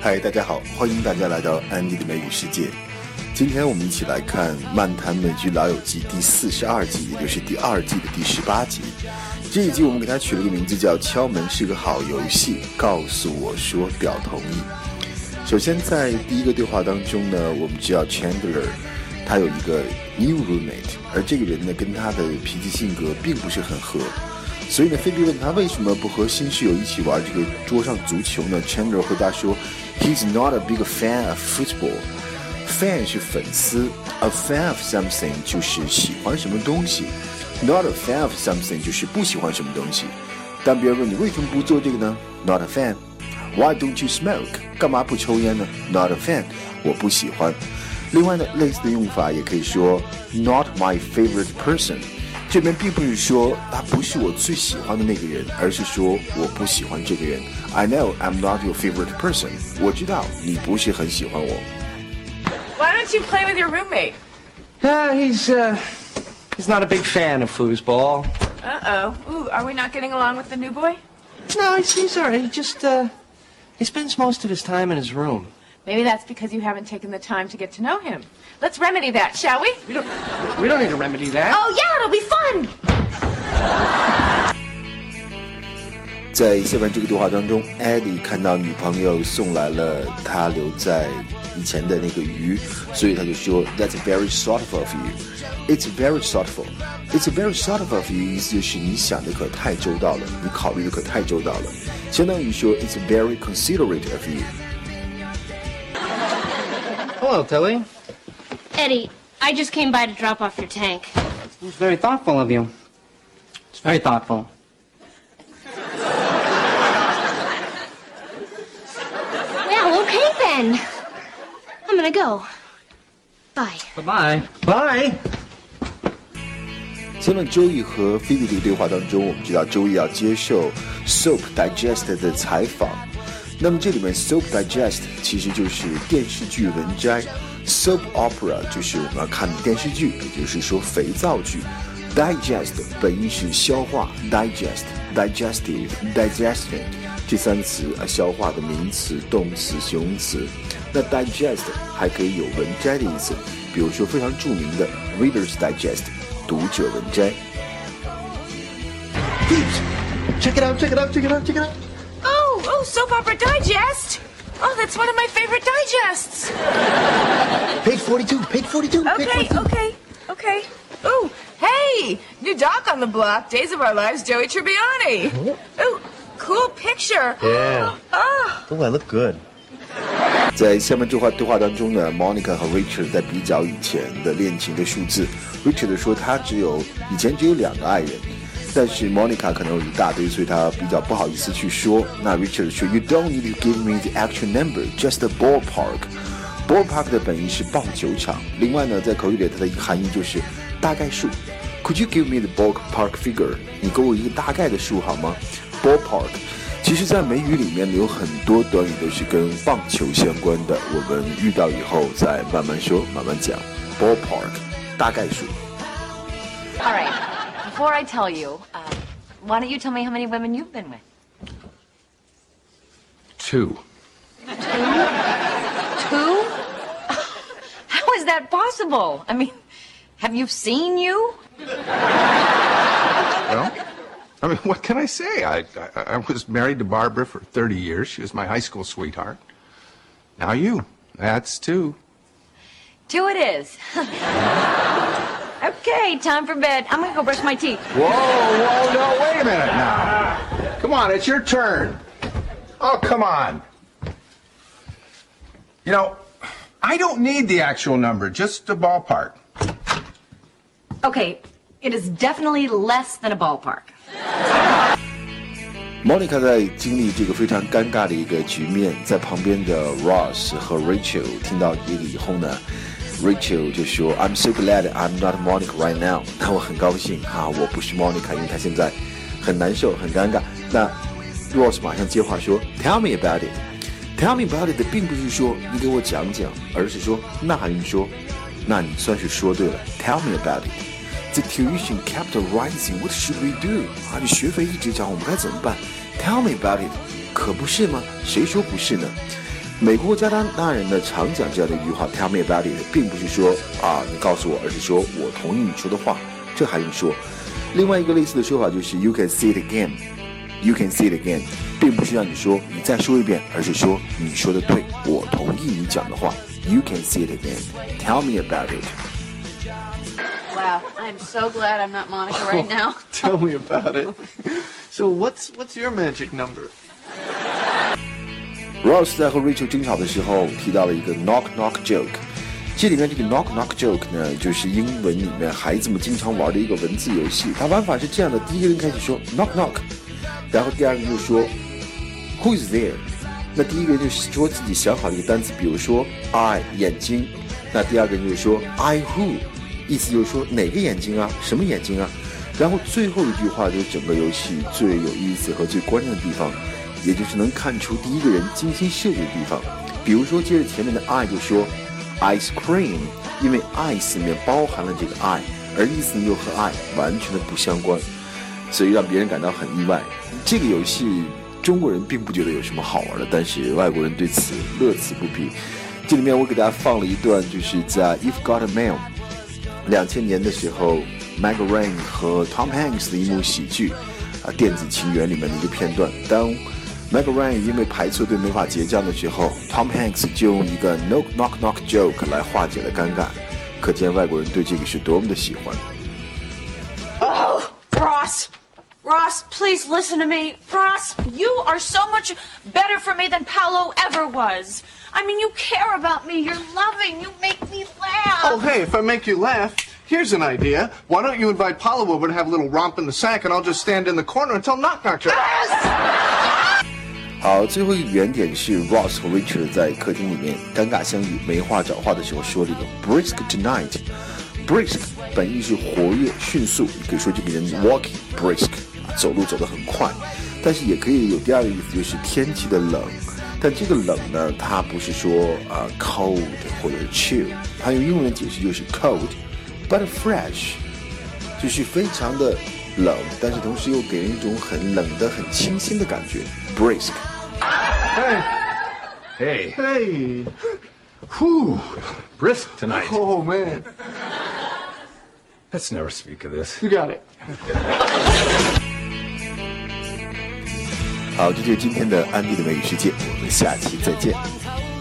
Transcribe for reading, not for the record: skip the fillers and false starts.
嗨，大家好，欢迎大家来到安迪的美语世界。今天我们一起来看《漫谈美剧老友记》第42集，也就是第2季的第18集。这一集我们给它取了个名字叫敲门是个好游戏，告诉我说表同意。首先在第一个对话当中呢，我们知道 Chandler 他有一个 new roommate， 而这个人呢跟他的脾气性格并不是很合，所以呢菲比问他为什么不和新室友一起玩这个桌上足球呢？ Chandler 回答说 He's not a big fan of football。 Fan 是粉丝， A fan of something 就是喜欢什么东西， Not a fan of something 就是不喜欢什么东西。当别人问你为什么不做这个呢？ Not a fan。 Why don't you smoke？ 干嘛不抽烟呢？ Not a fan， 我不喜欢。另外呢，类似的用法也可以说 Not my favorite person， 这边并不是说他不是我最喜欢的那个人，而是说我不喜欢这个人。 I know I'm not your favorite person， 我知道你不是很喜欢我。 Why don't you play with your roommate? He's not a big fan of foosball. Uh-oh. Ooh, are we not getting along with the new boy? No, he's all right. He just, he spends most of his time in his room. Maybe that's because you haven't taken the time to get to know him. Let's remedy that, shall we? We don't need to remedy that. Oh, yeah, it'll be fun! 在下面这个对话当中 Eddie 看到女朋友送来了他留在以前的那个鱼，所以他就说 That's very thoughtful of you. It's very thoughtful. It's very thoughtful of you 意思就是你想的可太周到了，你考虑的可太周到了，相当于说 It's very considerate of you. Hello, Tilly. Eddie, I just came by to drop off your tank. It's very thoughtful of you. It's very thoughtful. Well, okay then. I'm gonna go. Bye. Bye-bye. Bye. 下面周易和菲比这个对话当中，我们知道周易要接受 Soap Digest 的采访。那么这里面 Soap Digest 其实就是电视剧文摘， Soap Opera 就是我们要看的电视剧，也就是说肥皂剧。 Digest 本意是消化， Digest Digestive Digestion 这3词消化的名词、动词、形容词。那 Digest 还可以有文摘的意思，比如说非常著名的 Reader's Digest 读者文摘。 Check it out, check it out, check it out, check it out. Oh, Soap Opera Digest! Oh, that's one of my favorite digests! Page 42, page 42. Okay. Ooh, hey! New doc on the block, Days of Our Lives, Joey Tribbiani. Ooh, cool picture. Yeah. Oh. Oh, I look good. 在下面这对话当中呢 Monica 和 Richard 在比较以前的恋情的数字。 Richard 说他以前只有2个爱人，但是 Monica 可能有一大堆，所以他比较不好意思去说。那 Richard 说 You don't need to give me the actual number, just a ballpark. Ballpark 的本意是棒球场，另外呢在口语里它的含义就是大概数。 Could you give me the ballpark figure? 你给我一个大概的数好吗？ Ballpark 其实在美语里面有很多短语都是跟棒球相关的，我们遇到以后再慢慢说慢慢讲。 Ballpark 大概数。 All right. Before I tell you, why don't you tell me how many women you've been with? 2. Two? How is that possible? I mean, have you seen you? Well, I mean, what can I say? I was married to Barbara for 30 years. She was my high school sweetheart. Now you. That's 2. 2 it is. Okay, time for bed. I'm gonna go brush my teeth. Whoa, no, wait a minute now. Come on, it's your turn. Oh, come on. You know, I don't need the actual number, just a ballpark. Okay, it is definitely less than a ballpark. Monica 在经历这个非常尴尬的一个局面，在旁边的 Ross 和 Rachel 听到这个以后呢 Rachel 就说 I'm so glad I'm not Monica right now. 那我很高兴我不是 Monica， 因为她现在很难受很尴尬。那 Ross 马上接话说 Tell me about it. Tell me about it 并不是说你给我讲讲，而是说那还用说，那你算是说对了。 Tell me about it.The tuition kept rising. What should we do? 这学费一直涨，我们该怎么办？ Tell me about it. 可不是吗？谁说不是呢？ 美国加拿大人呢常讲这样的一句话 "Tell me about it"， 并不是说你告诉我，而是说我同意你说的话，这还用说。另外一个类似的说法就是 "You can say it again"，You can say it again， 并不是让你说你再说一遍，而是说你说的对，我同意你讲的话。You can say it again. Tell me about it. Wow, I'm so glad I'm not Monica right now. Tell me about it. So what's your magic number? Ross 在和 Rachel 争吵的时候提到了一个 knock knock joke。这里面这个 knock knock joke 呢，就是英文里面孩子们经常玩的一个文字游戏。它玩法是这样的：第一个人开始说 knock knock， 然后第二个人就说 Who is there？ 那第一个人就说自己想好的一个单词，比如说 I 眼睛，那第二个人就说 I who， 意思就是说哪个眼睛啊，什么眼睛啊。然后最后一句话就是整个游戏最有意思和最关键的地方，也就是能看出第一个人精心设计的地方。比如说接着前面的 I 就说 ice cream， 因为 ice 里面包含了这个 I， 而意思又和 I 完全的不相关，所以让别人感到很意外。这个游戏中国人并不觉得有什么好玩的，但是外国人对此乐此不疲。这里面我给大家放了一段，就是在 You've Got a Mail 2000年的时候 Meg Ryan 和 Tom Hanks 的一幕喜剧电子情缘里面的一个片段。当 Meg Ryan 因为排错队没法结账的时候， Tom Hanks 就用一个 knock knock knock joke 来化解了尴尬，可见外国人对这个是多么的喜欢。 Oh, Ross, please listen to me. Ross, you are so much better for me than Paolo ever was. I mean, you care about me. You're loving. You make me laugh. Oh, hey, if I make you laugh, here's an idea. Why don't you invite Paolo over to have a little romp in the sack, and I'll just stand in the corner until knock knock. Yes! 好，最后一个原点是 Ross 和 Richard 在客厅里面尴尬相遇，没话找话的时候说了一个 brisk tonight。brisk 本意是活跃、迅速，你可以说这个人 walking brisk， 走路走得很快，但是也可以有第二个意思，就是天气的冷。但这个冷呢，它不是说cold 或者是 chill， 它用英文的解释就是 cold but fresh， 就是非常的冷，但是同时又给人一种很冷的、很清新的感觉 brisk。 Hey. Whew. Brisk tonight. Oh, man. Let's never speak of this. You got it. 好，这就是今天的安迪的美语世界，我们下期再见。